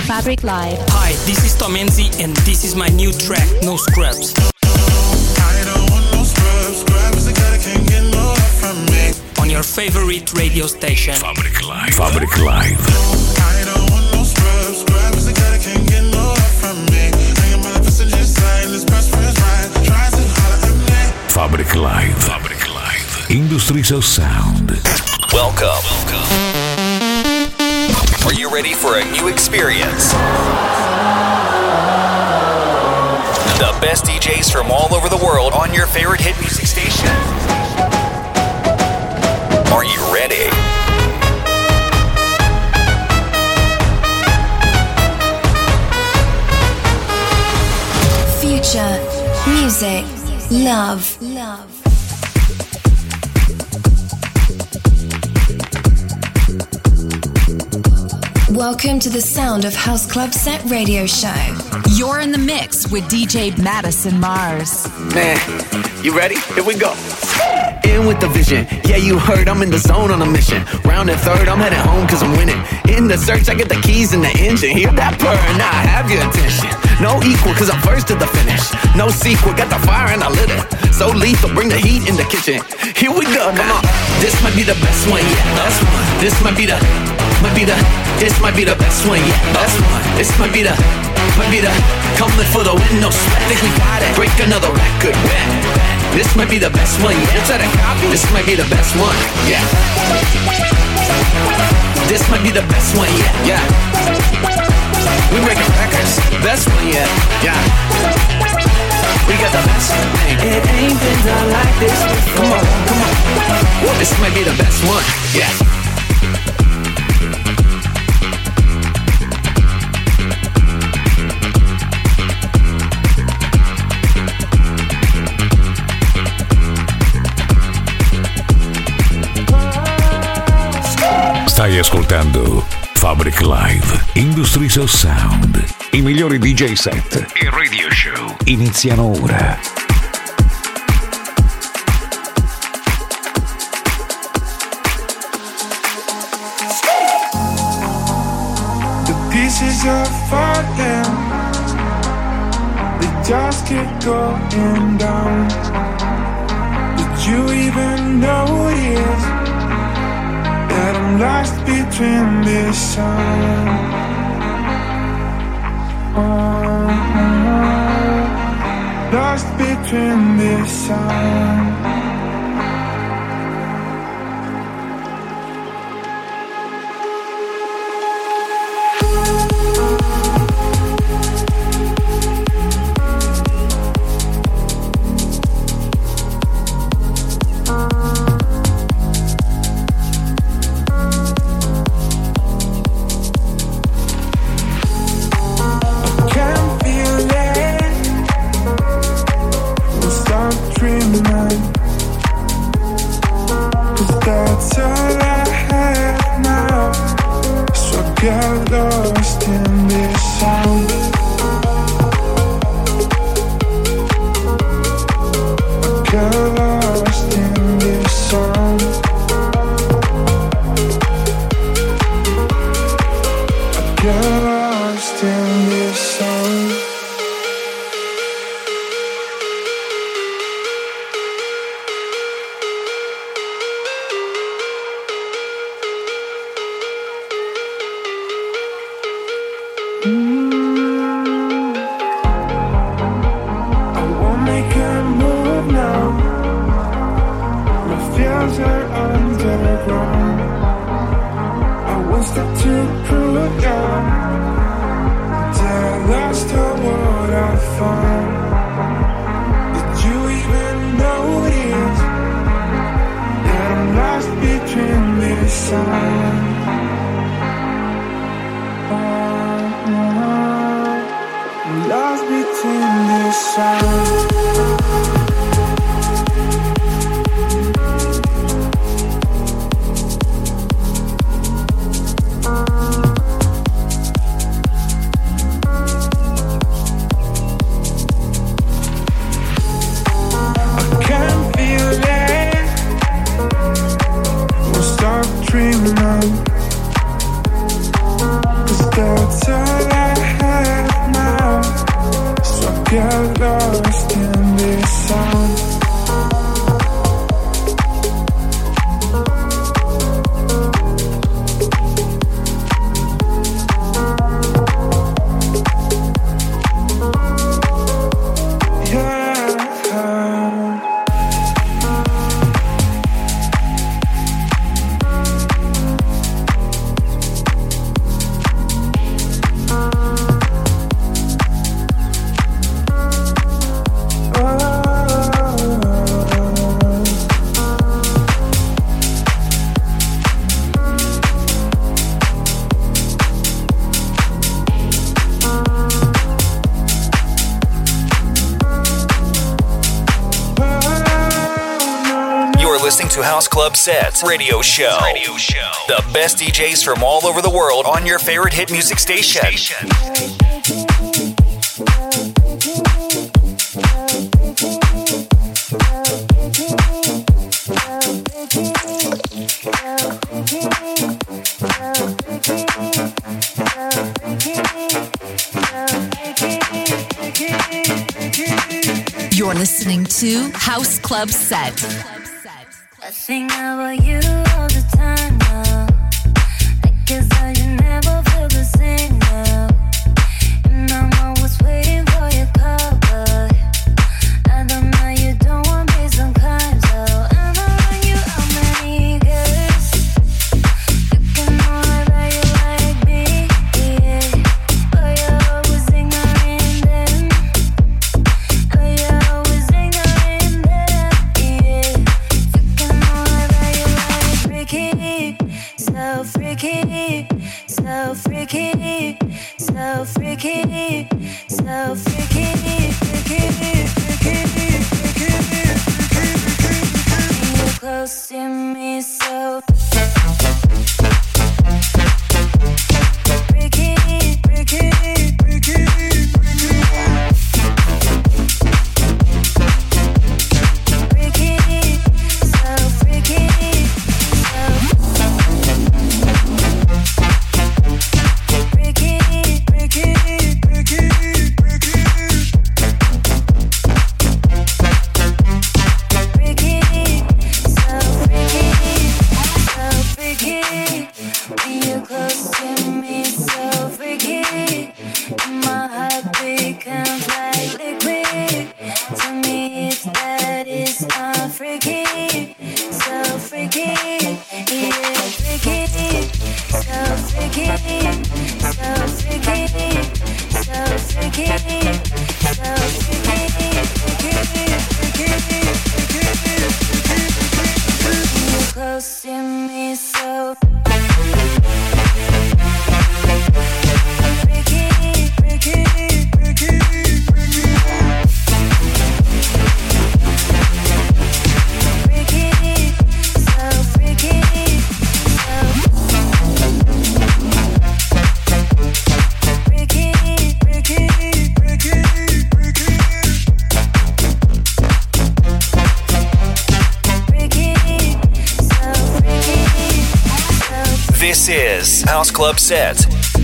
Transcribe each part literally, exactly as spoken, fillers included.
Fabric Live. Hi, this is Tom Enzi and this is my new track, No Scrubs. I don't want no scrubs, scrubs the guy that can't get no love from me. On your favorite radio station. Fabric Live. Fabric Live. I don't want no scrubs, scrubs the guy that can't get no love from me. I am on the passenger side, this best friend's ride, tries to holler at me. Fabric Live. Fabric Live. Industries of Sound. Welcome. Welcome. Are you ready for a new experience? The best D Js from all over the world on your favorite hit music station. Are you ready? Future, music, love, love. Welcome to the Sound of House Club Set radio show. You're in the mix with D J Madison Mars. Man, you ready? Here we go. In with the vision. Yeah, you heard I'm in the zone on a mission. Round and third, I'm heading home cause I'm winning. In the search, I get the keys in the engine. Hear that purr, now I have your attention. No equal cause I'm first to the finish. No sequel, got the fire and I lit it. So lethal, bring the heat in the kitchen. Here we go, come on. This might be the best one, yeah, best one. This might be the, might be the, this might be the best one, yeah, best one. This might be the, might be the, coming for the win, no sweat. Think we got it, break another record, man. This might be the best one, yeah. Try to copy, this might be the best one, yeah. This might be the best one, yeah, yeah. We breaking records, best one, yeah, yeah. We got the best one, man. It ain't been done like this before. Come on, come on. Whoa, this might be the best one, yeah. Stai ascoltando Fabric Live, Industries of Sound. I migliori D J set e radio show iniziano ora. The pieces are falling, they just keep going down. Did you even notice that I'm lost between this sound? Oh, lost between this sound. Get lost in this sound. Get lost in this sound. Get lost in this sound. Dreaming on, 'cause that's all I to House Club Sets Radio Show. Radio Show. The best D Js from all over the world on your favorite hit music station. station. You're listening to House Club Set. I think about you all the time now. I guess I should never feel the same now. And I'm always waiting for your call, but I don't know you don't want me sometimes. So I don't know you how many girls you can know that you like me, yeah. But you're always ignoring them. But you're always ignoring them, yeah. You can know that you like freaky, so freaky, so freaky, so freaky, so freaky, freaky, freaky, freaky, freaky. You're close to me, so freaky, freaky, freaky, freaky, freaky, so freaky, so freaky, freaky, freaky, freaky, freaky, so freaky, so freaky. When you're close to me, so freaky. And my heart becomes like liquid. Tell me if that is not freaky, so freaky, yeah, freaky, so freaky, so freaky, so freaky, so freaky, freaky, freaky, freaky, freaky. You're close to me, so freaky, freaky, freaky, freaky, freaky, so freaky, so freaky, freaky, freaky, freaky, freaky, so freaky, so This is House Club Set.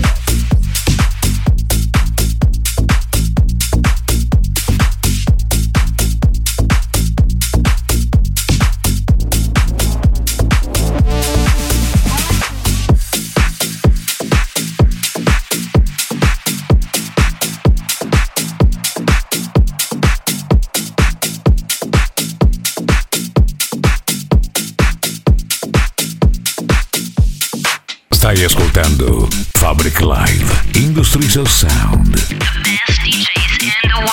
Stai ascoltando Fabric Live Industries of Sound. The best D Js in the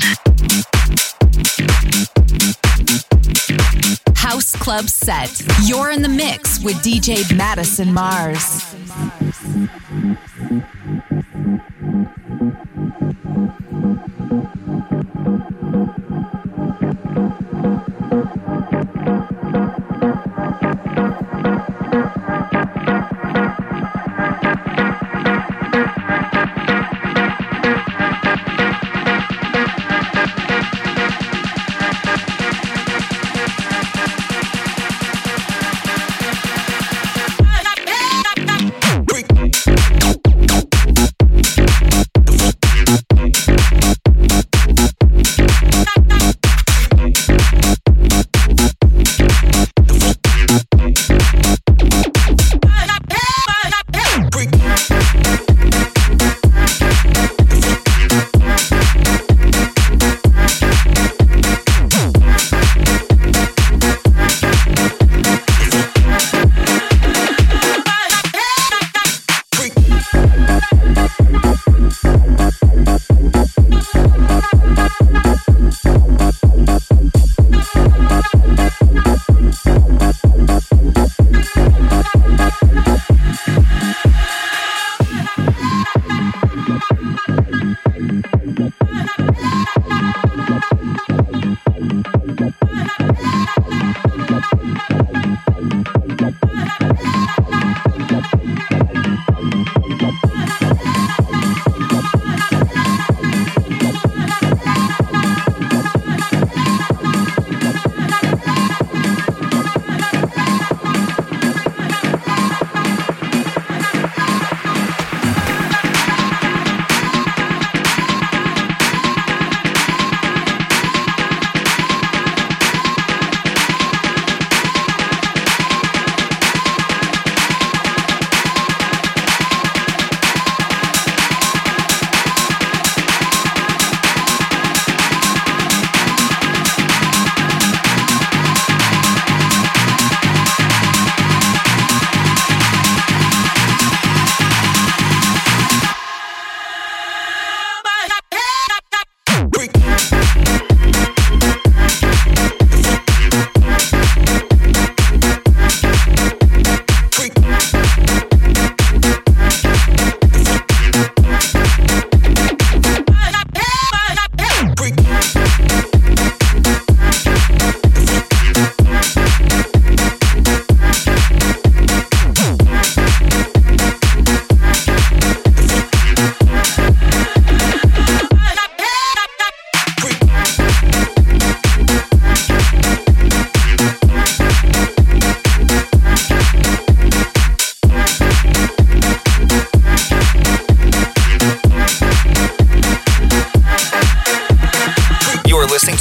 world. House Club Set. You're in the mix with D J Madison Mars. freaky.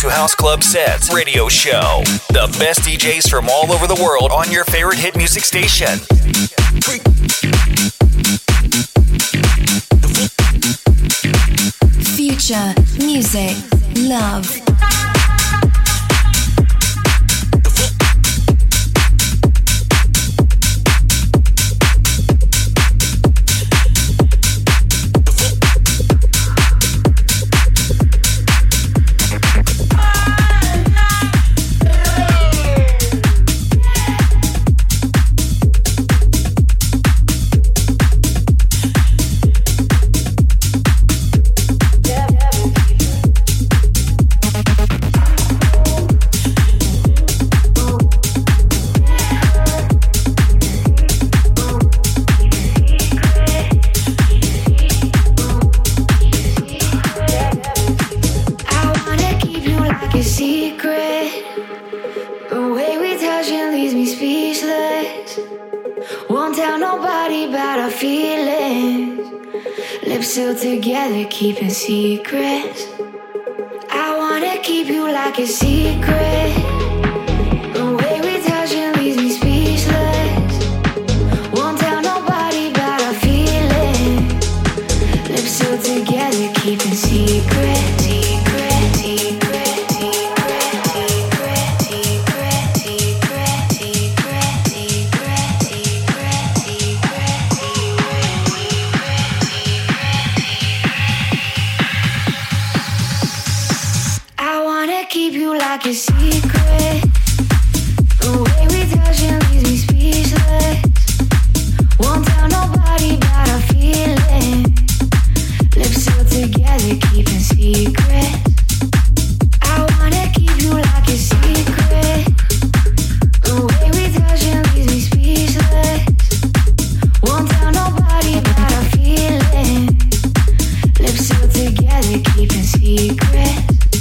House Club Sets Radio Show. The best D Js from all over the world on your favorite hit music station. Future, music, love. Still together, keeping secrets. I wanna keep you like a secret. The way we touching leaves me speechless. Won't tell nobody about our feelings. Lips still together, keeping secrets. Secret, secret, secret, secret, secret, secret, secret, secret, secret, keep you like a secret. The way we touching leaves me speechless. Won't tell nobody about our feelings. Lips still together, keeping secrets. I wanna keep you like a secret. The way we touching leaves me speechless. Won't tell nobody about our feelings. Lips still together, keeping secrets.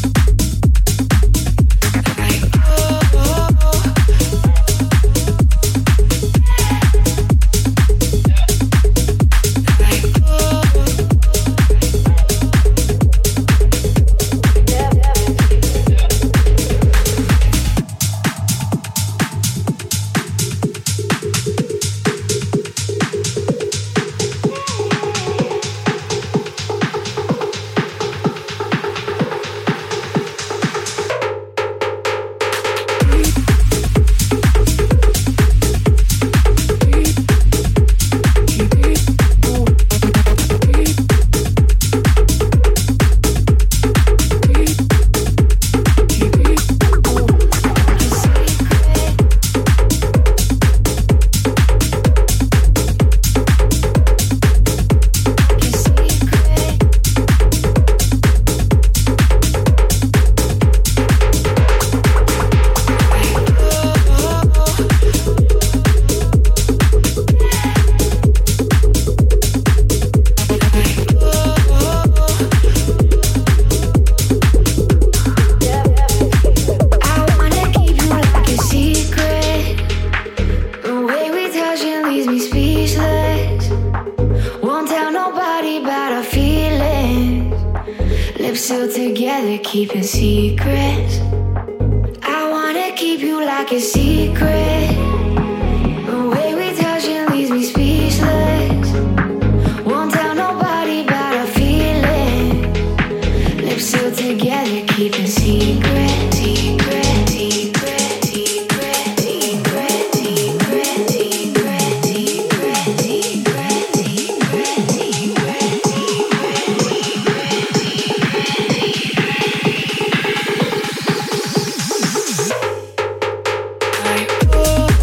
Keeping secrets. I wanna keep you like a secret. The way we touching leaves me speechless. Won't tell nobody about our feelings. Lips still together, keeping secrets. Secret, secret, secret, secret, secret, secret, secret, secret, secret, secret. Oh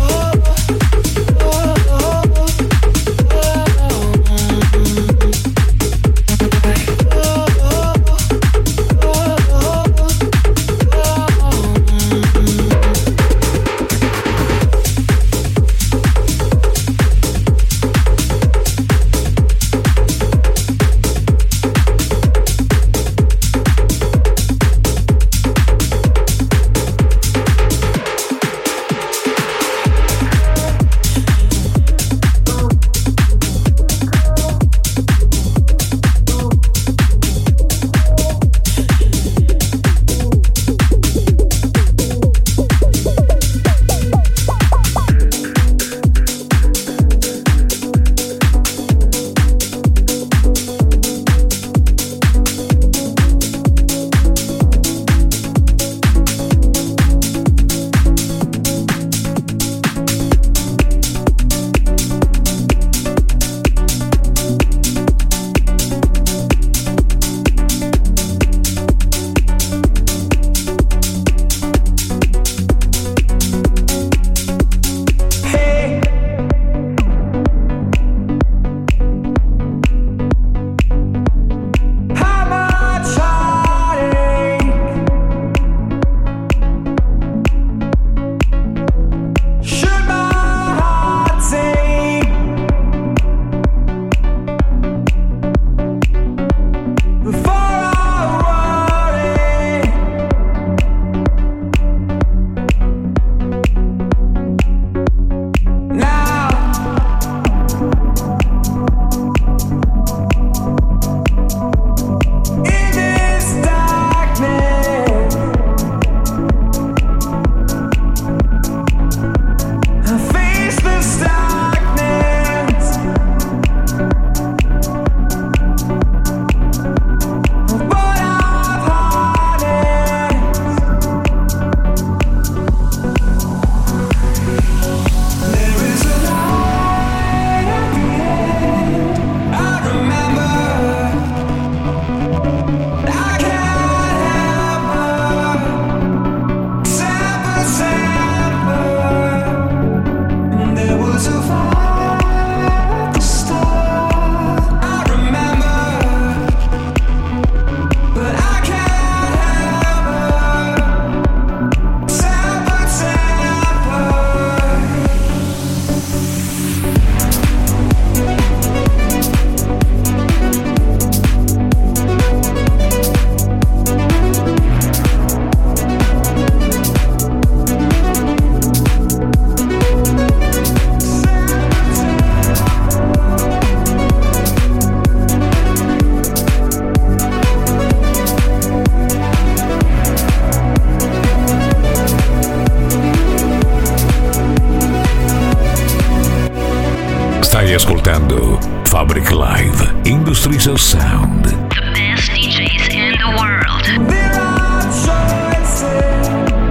Industries Sound. The best D Js in the world. There are choices.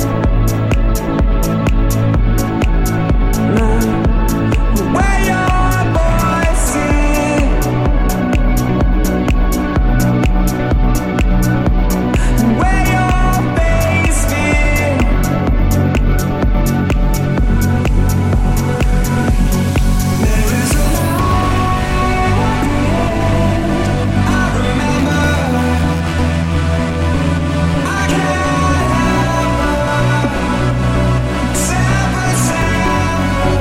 Where your voices, where your face is. There is a I remember. I can't help but separate sound.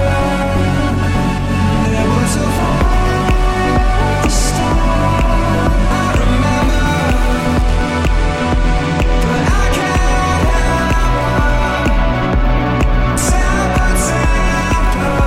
There was a falling star. I remember, but I can't help but separate sound.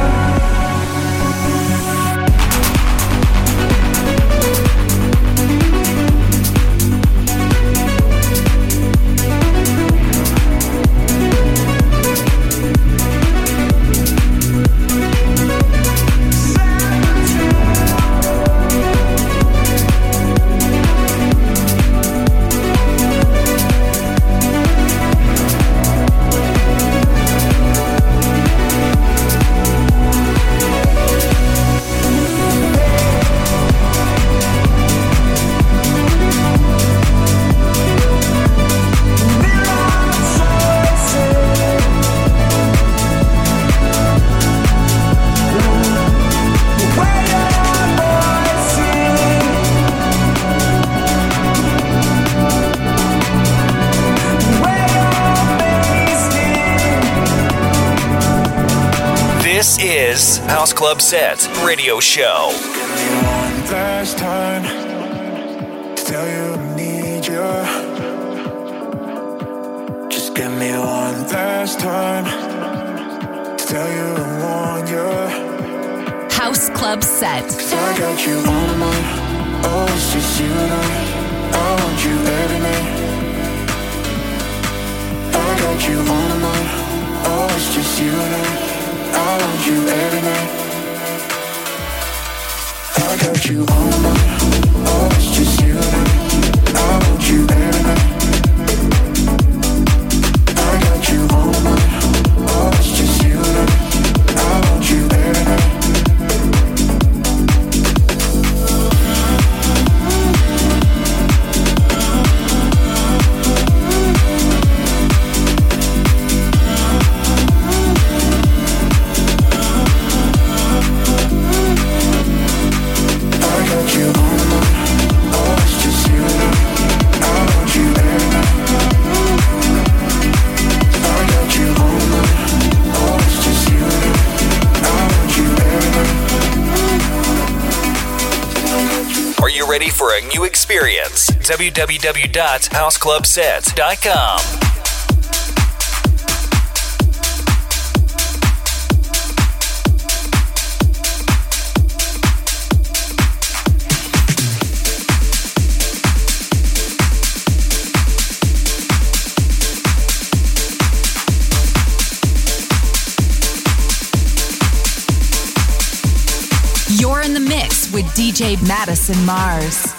This is House Club Set Radio Show. One last time to tell you I need you. Just give me one last time to tell you I want you. House Club Set. I got you on my mind. Oh, it's just you and I. I want you every night. I got you on my mind. Oh, it's just you and I. I want you every night. I got you on my mind. Oh, it's just you and I. I want you every night. I got you on my mind. Oh, it's just you and I. I want you every night. Ready for a new experience? w w w dot house club set dot com. You're in the mix with D J Madison Mars.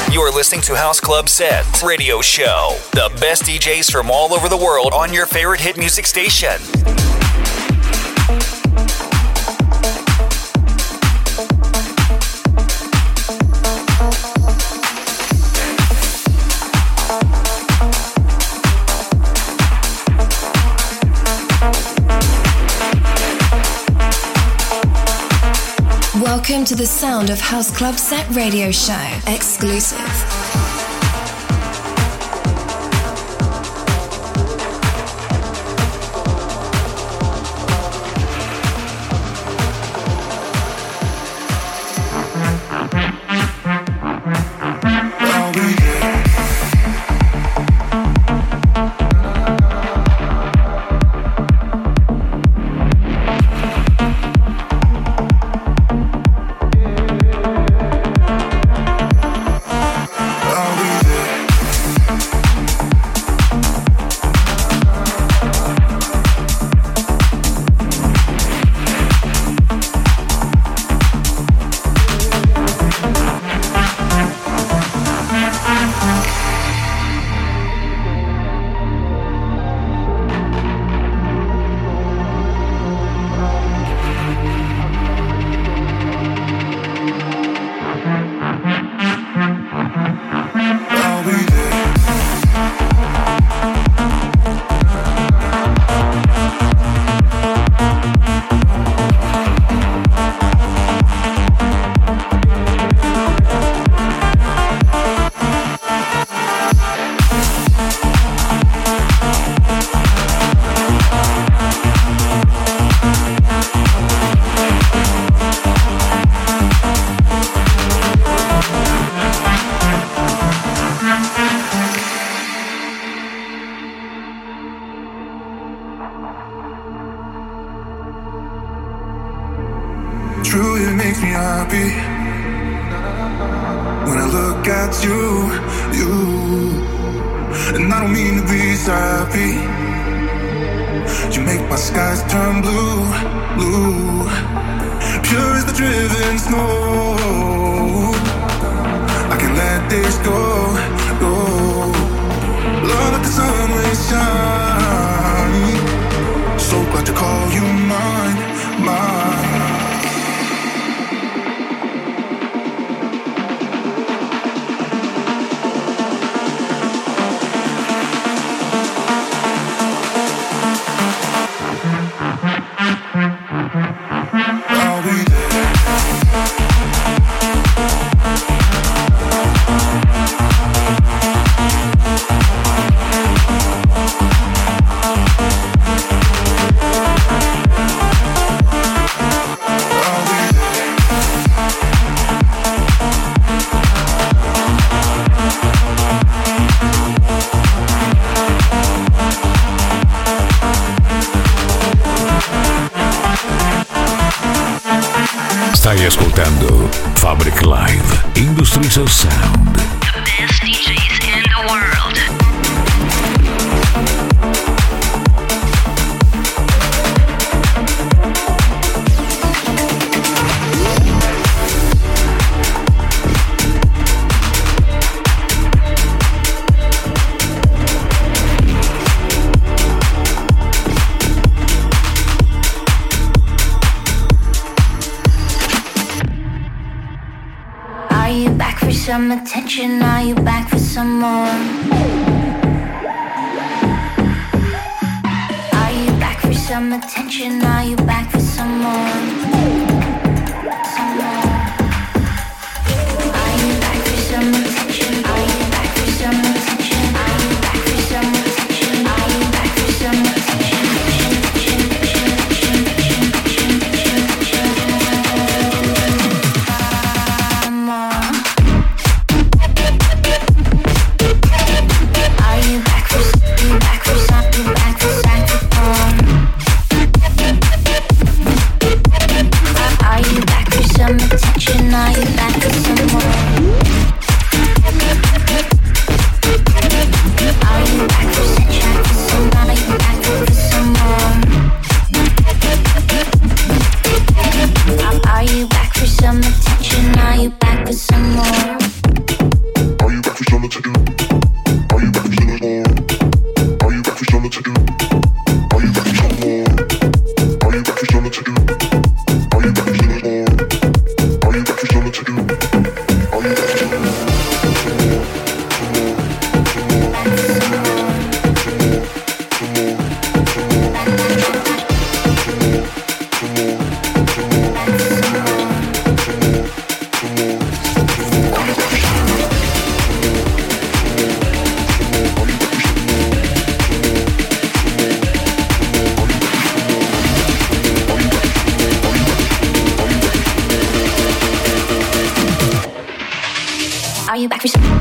You're listening to House Club Set Radio Show. The best D Js from all over the world on your favorite hit music station. Welcome to the Sound of House Club Set Radio Show. Exclusive. Stai ascoltando Fabric Live Industries of Sound. The best D Js in the world. Some attention, are you back for some more? Are you back for some attention, are you back for some more? Some more. Are you back for some attention, are you back for some attention, are you back for some attention, are you back for some attention? Back for, back for, back for, back for, Are you back for some?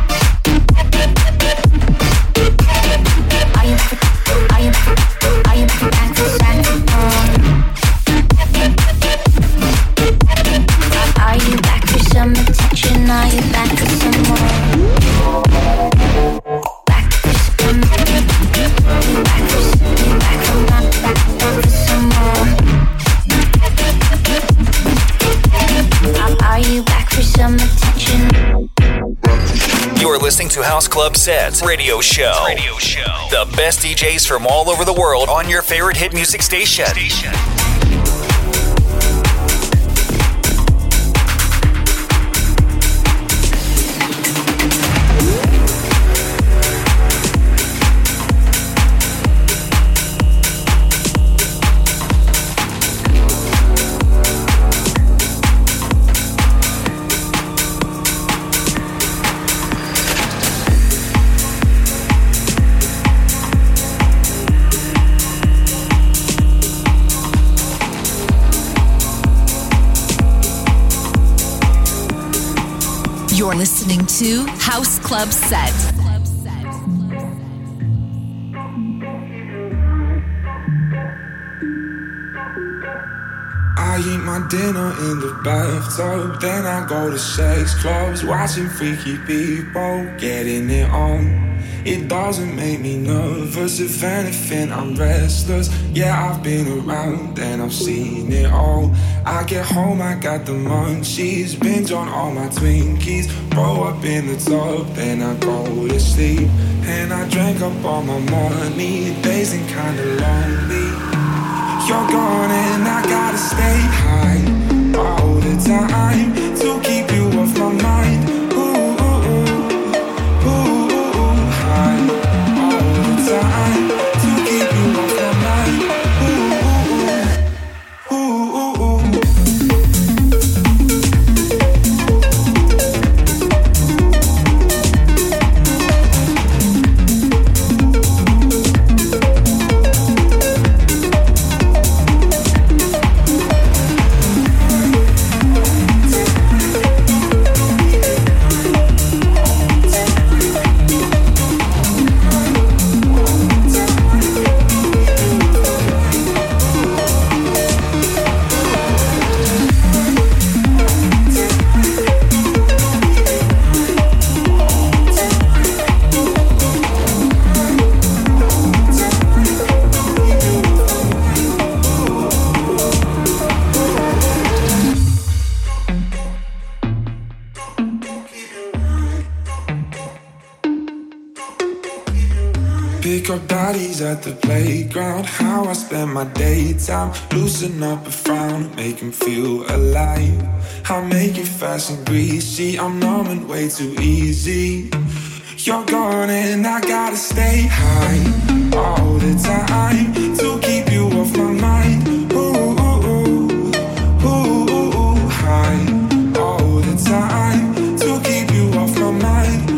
Are you back for? Are you back for? Are you back for saxophone? Are you back for some attention? Are you back for some more? Back for some. Back for some. Back for not back, back for some more. Are you back for some attention? You're listening to House Club Sets Radio Show. Radio Show. The best D Js from all over the world on your favorite hit music station. station. You're listening to House Club Set. I eat my dinner in the bathtub, then I go to sex clubs, watching freaky people getting it on. It doesn't make me nervous, if anything I'm restless. Yeah, I've been around and I've seen it all. I get home, I got the munchies, binge on all my Twinkies, roll up in the tub, then I go to sleep. And I drank up all my money, days ain't kinda lonely. You're gone and I gotta stay high all the time to keep you off my mind. Ooh, ooh, ooh, ooh, ooh, high all the time to keep you off my mind. Ooh, ooh, ooh, ooh, ooh. Pick up bodies at the playground, how I spend my daytime. Loosen up a frown, make him feel alive. I make it fast and greasy, I'm numb and way too easy. You're gone and I gotta stay high all the time to keep you off my mind. Ooh, ooh, ooh, ooh, ooh, ooh, high all the time to keep you off my mind.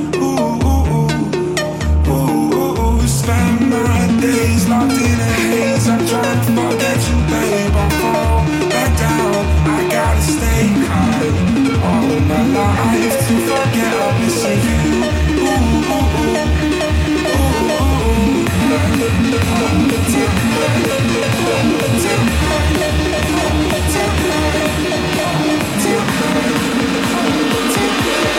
Spend my days locked in a haze, I'm trying to forget you, babe. I fall back down, I gotta stay high all of my life to forget I'm missing you. Ooh, ooh, ooh, ooh, ooh, all the time, all the time, all the time, all the time.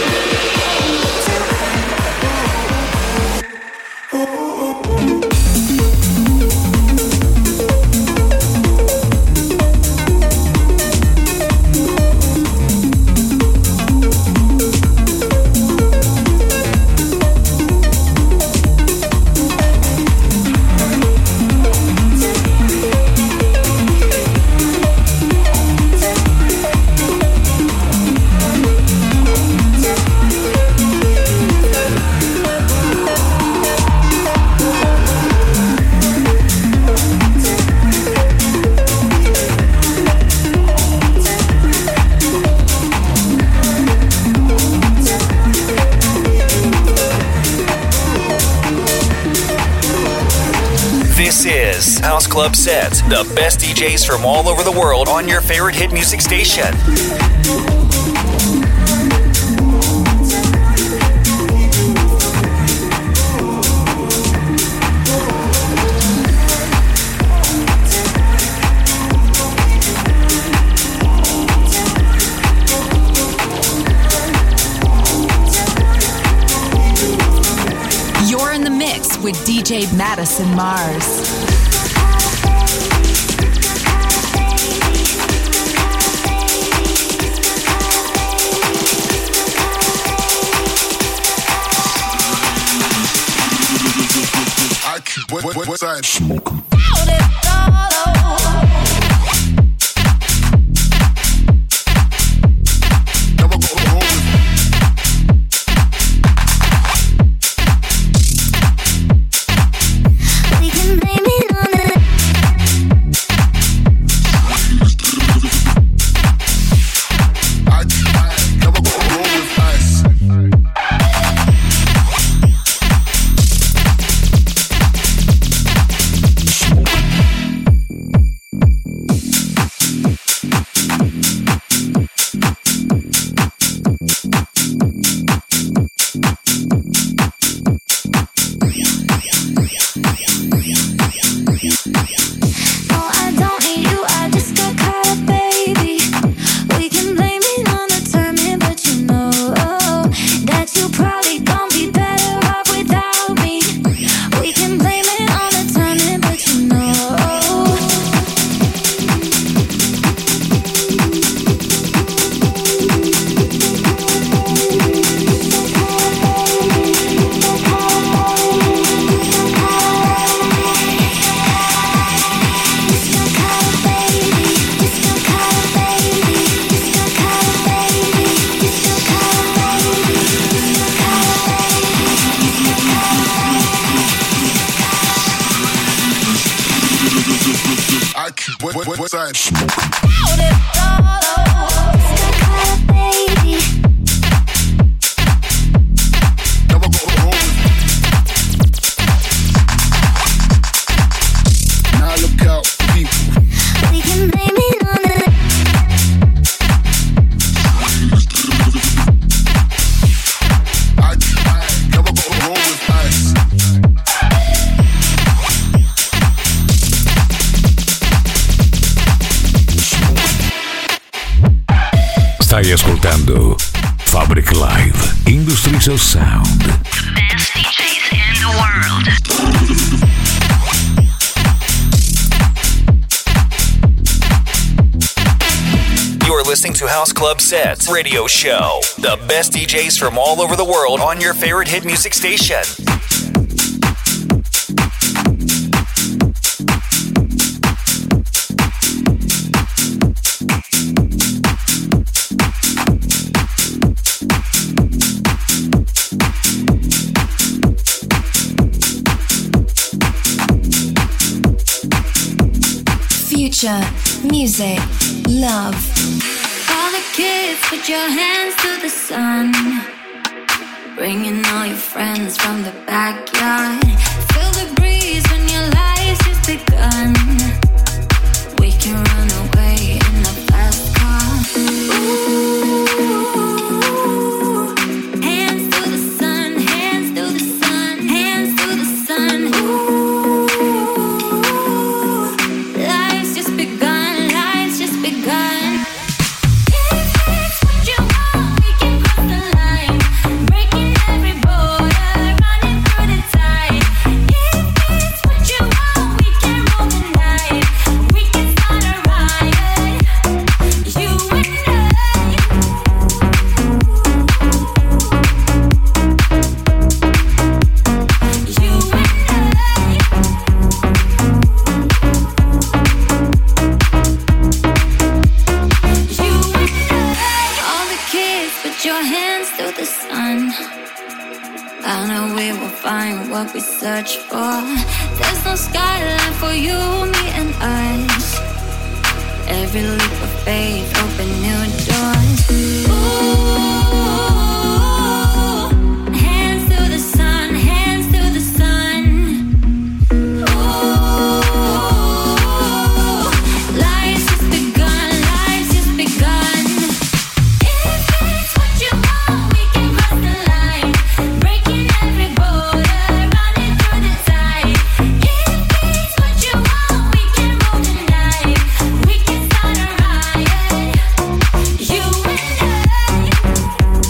This is House Club Sets, the best D Js from all over the world on your favorite hit music station. with D J Madison Mars. What, what, what side? Smoking. What, what, what, what side? Now look out, people. We can blame it on the I, I never go home with ice. Stai ascoltando Fabric Live Industries of Sound. The best D Js in the world. You're listening to House Club Sets Radio Show. The best D Js from all over the world on your favorite hit music station. Future, music, love. All the kids, put your hands to the sun. Bringing all your friends from the backyard. Feel the breeze when your life's just begun. We can run away in a fast car. Ooh, hands to the sun, hands to the sun, hands to the sun. Ooh, life's just begun, life's just begun. What we search for. There's no skyline for you, me and us. Every leap of faith open new doors. Ooh, hands to the sun, hands to the sun. Ooh, life's just begun, life's just begun. If it's what you want, we can cross the line, breaking every border. You and I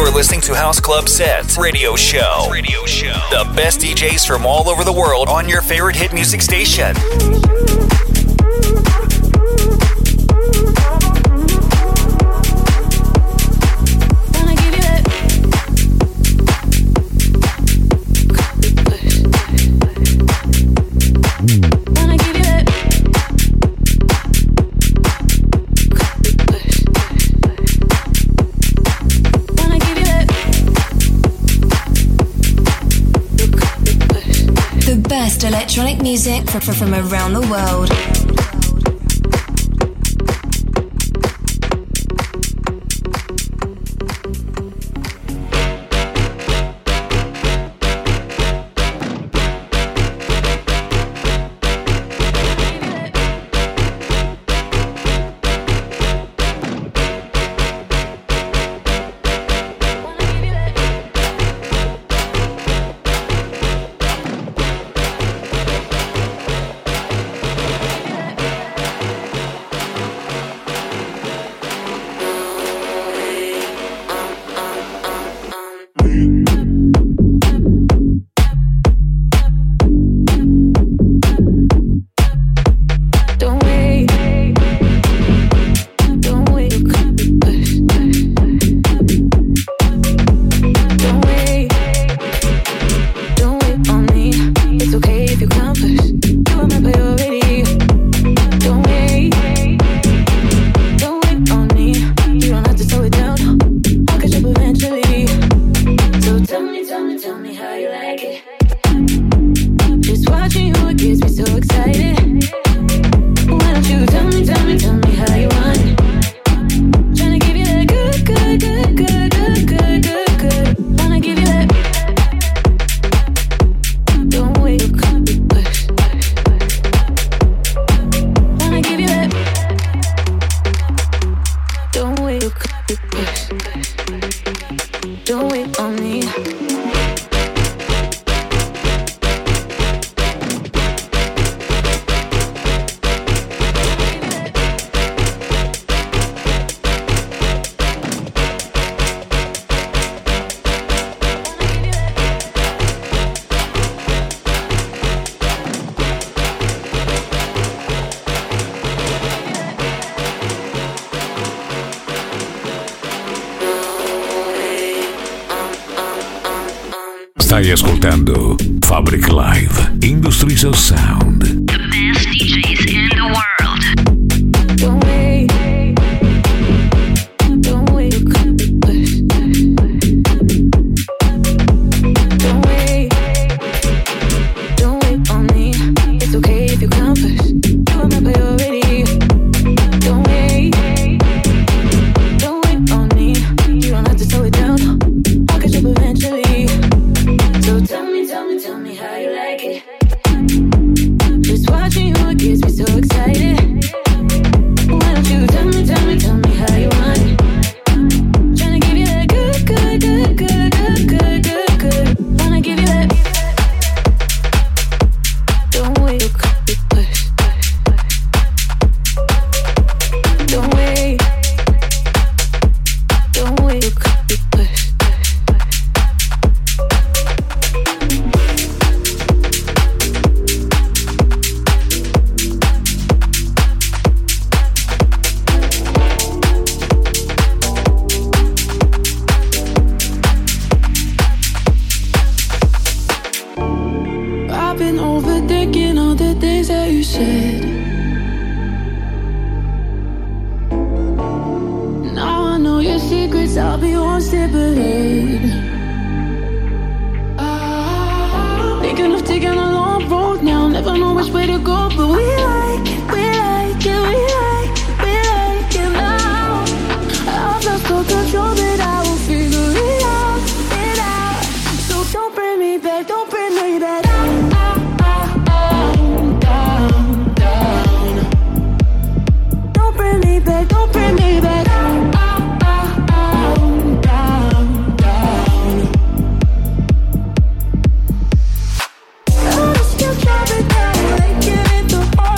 You're listening to House Club Set Radio Show. Radio Show. The best D Js from all over the world on your favorite hit music station. Best electronic music from, from around the world. Stai ascoltando Fabric Live Industries of Sound. The best D Js in the world. Don't wait. Don't wait. Don't wait. Don't wait on me. It's okay if you come first. You remember you're ready. Don't wait. Don't wait on me. You don't have to slow it down. I'll catch up eventually. So tell me, tell me, tell me how you like it. Just watching you gets me so excited. Why don't you tell me, tell me, tell me how you want it? Tryna give you that good, good, good, good, good, good, good, good. Wanna give you that. Don't wait, push. Don't wait. Don't wait, push. I've been overthinking all the things that you said. Now I know your secrets, I'll be one step ahead. Ah, thinking of taking a long road now, never know which way to go, but we like it, we like it, we like, we like it now. I've lost all control, but I will figure it out, it out. So don't bring me back, don't bring me back. Don't bring me back down, down, down, down, down. I still try, but now I like it in the heart.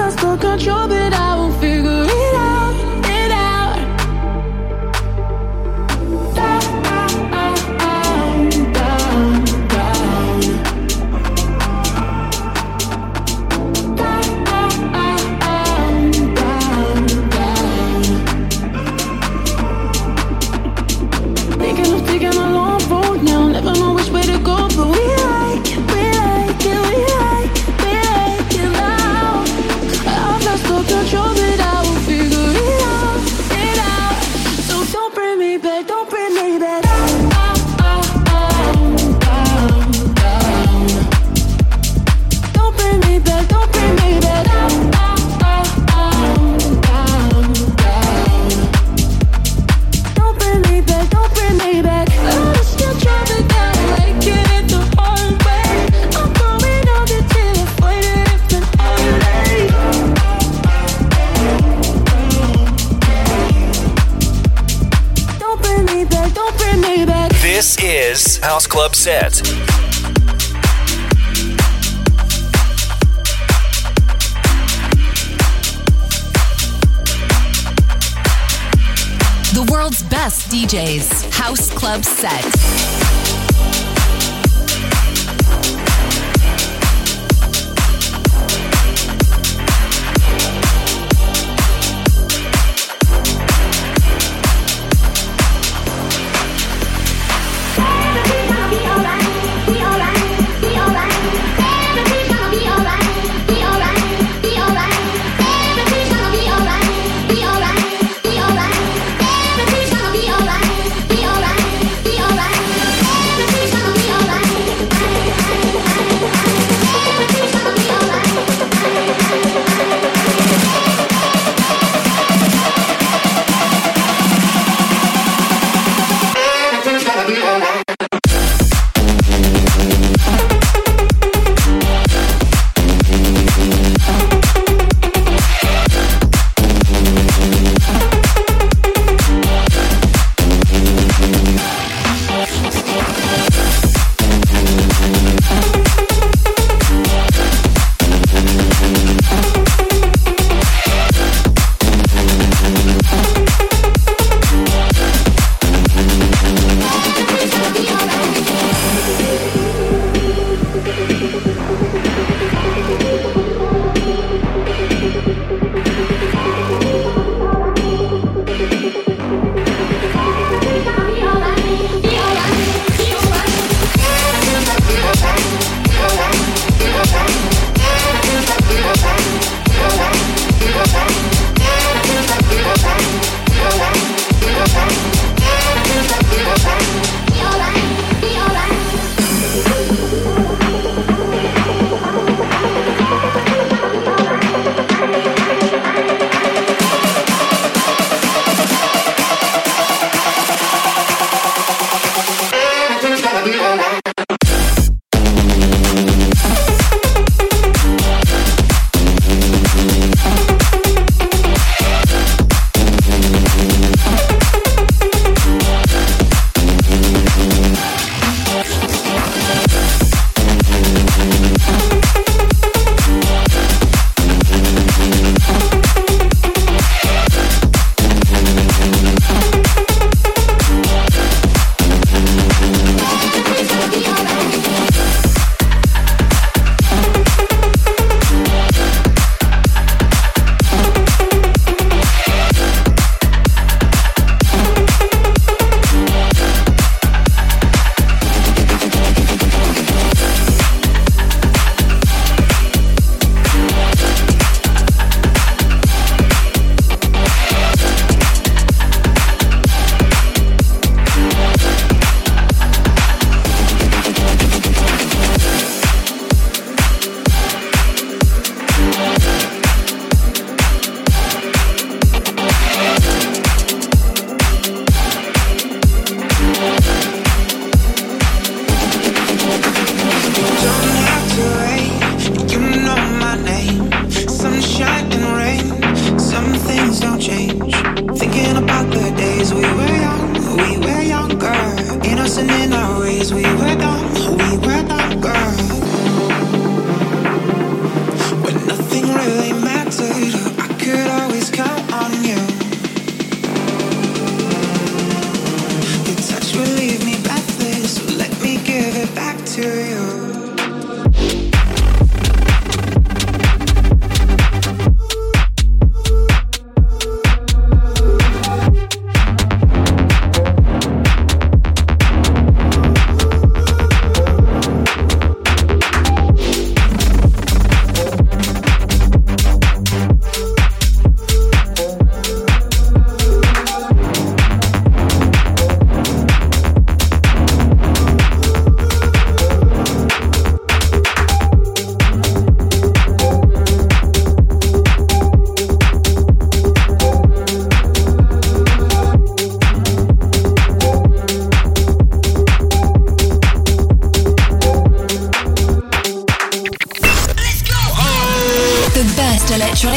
lost all control, but I will figure it out, it out. Down, down, down, down. Thinking of taking a long road now, never know which way to go, but we like it, we like it, we like it, we like it now. I've lost all control, but I will figure it out, it out. So don't bring me back, don't bring me back. Down, down, down, down. Don't bring me back, don't bring me back. Down, down, down, down. Don't bring me back, don't bring me back. I'm still driving down, like it the hard way. I'm going out until I find it if an holiday. Don't bring me back, don't bring me back. This is House Club Set. The world's best D Js. House Club Set. Be alright.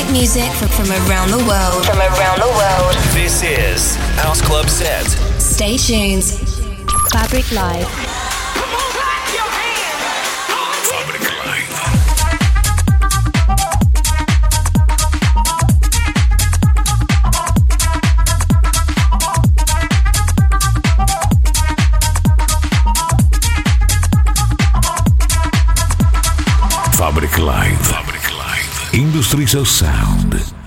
music from, from around the world. From around the world. This is House Club Set. Stay tuned. Fabric Live. Fabric Live. Fabric Live. Industries of Sound.